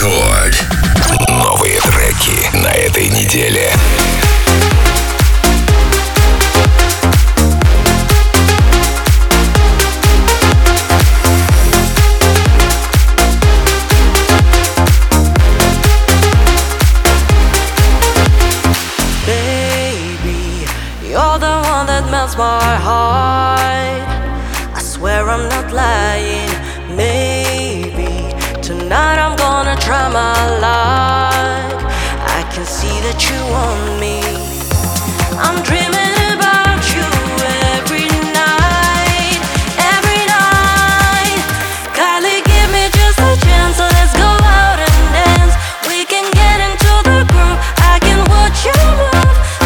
Рекорд. Новые треки на этой неделе. You're the one that melts my heart. I swear I'm not lying. Maybe tonight I'm gonna try my luck. I can see that you want me. I'm dreaming about you every night, every night. Kylie, give me just a chance, so let's go out and dance. We can get into the groove. I can watch you move.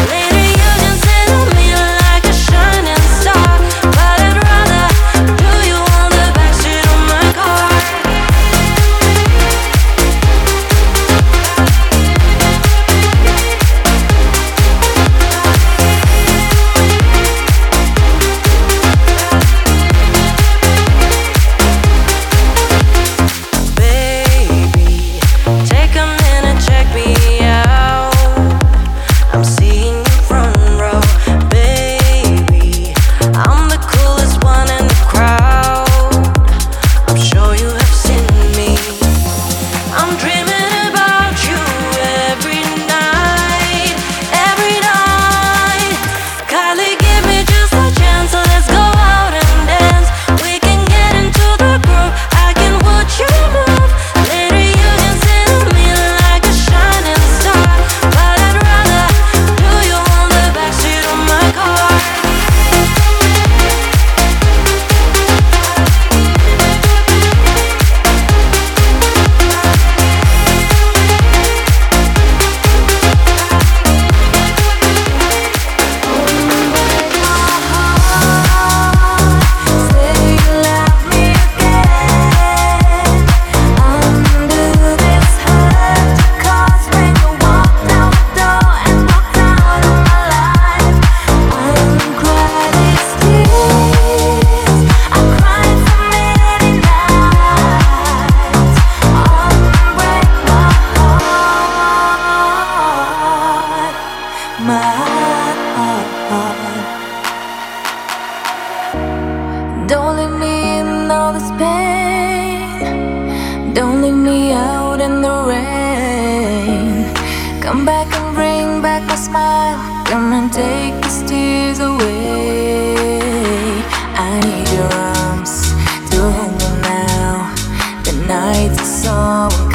Don't leave me in all this pain. Don't leave me out in the rain. Come back and bring back my smile. Come and take these tears away. I need your arms to hold me now. The nights are so